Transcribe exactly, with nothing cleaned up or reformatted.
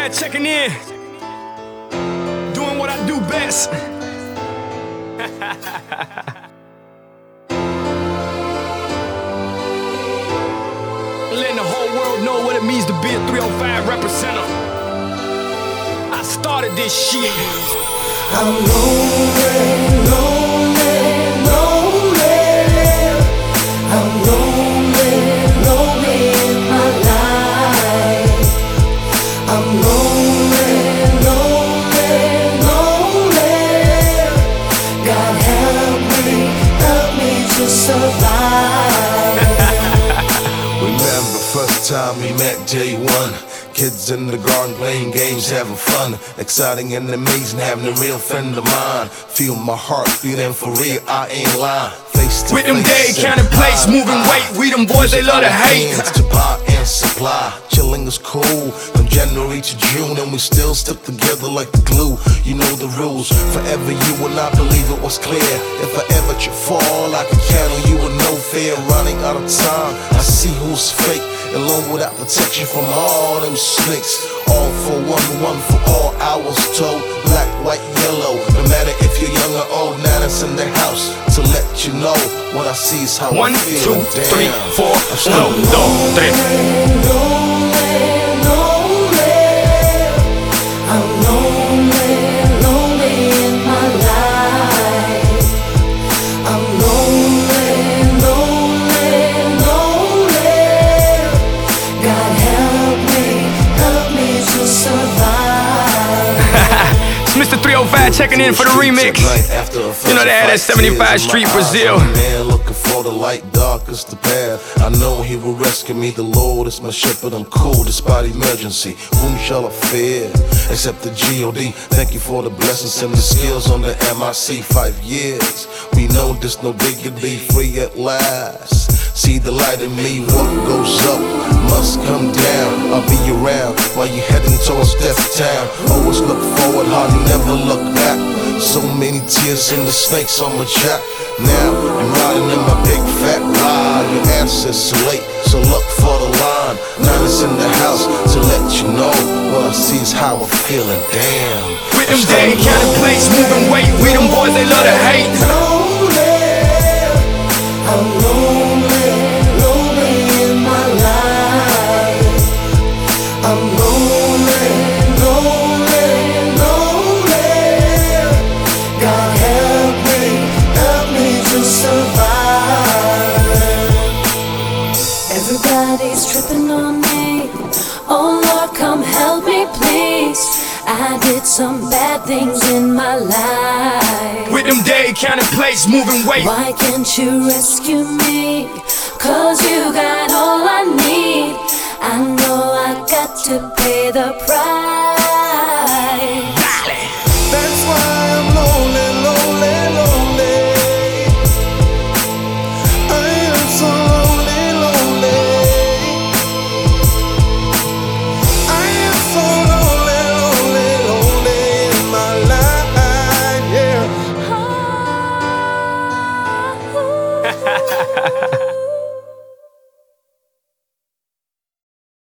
Fat checking in, doing what I do best. Letting the whole world know what it means to be a three oh five representative. I started this shit. I'm lonely, lonely, lonely. I'm lonely, lonely in my life. I'm lonely, lonely, lonely. God help me, help me to survive. Remember first time we met, day one. Kids in the garden playing games, having fun. Exciting and amazing, having a real friend of mine. Feel my heart beating for real, I ain't lying. Face to With them face, day counting plates, moving weight. We them boys, they love to hate. Hands to buy and supply, chilling is cool. From January to June, and we still stick together like the glue. You know the rules, forever you will not believe it was clear. If I ever should fall, I can count on you with no fear. Running out of time, I see who's fake. Alone without protection from all them snakes. All for one, one for all, I was told. Black, white, yellow, no matter if you're young or old. Now that's in the house to let you know what I see is how One, I feel. two, Damn. three, four, uno, dos, tres. Lonely, lonely. I'm lonely, lonely in my life. I'm lonely, lonely, lonely. God help me, help me to survive. It's Mister three oh five checking in for the remix. You know they had that seventy-five Street Brazil. Man looking for the light, dark is the path. I know he will rescue me. The Lord is my shepherd. I'm cool despite emergency. Whom shall I fear except the G O D? Thank you for the blessings and the skills on the M I C. Five years, we know there's no dignity. Free at last. See the light in me. What goes up must come down. I'll be around while you heading towards Death Town. Always look forward, hardly never look back. So many tears in the snakes on my jack. Now I'm riding in my big fat ride. Your answer's too late, so look for the line. Now it's in the house to let you know what I see is how I'm feeling. Damn. With them day counting plates, moving weight. We them boys, they love to hate. Lonely, I'm lonely, lonely in my life. I'm lonely, lonely, lonely. God help me, help me to survive. Everybody's tripping on me. Oh Lord, come help me, please. I did some bad things in my life. With them day counting plates, moving weight. Why can't you rescue me? Cause you got all I need. I know I got to pay the price.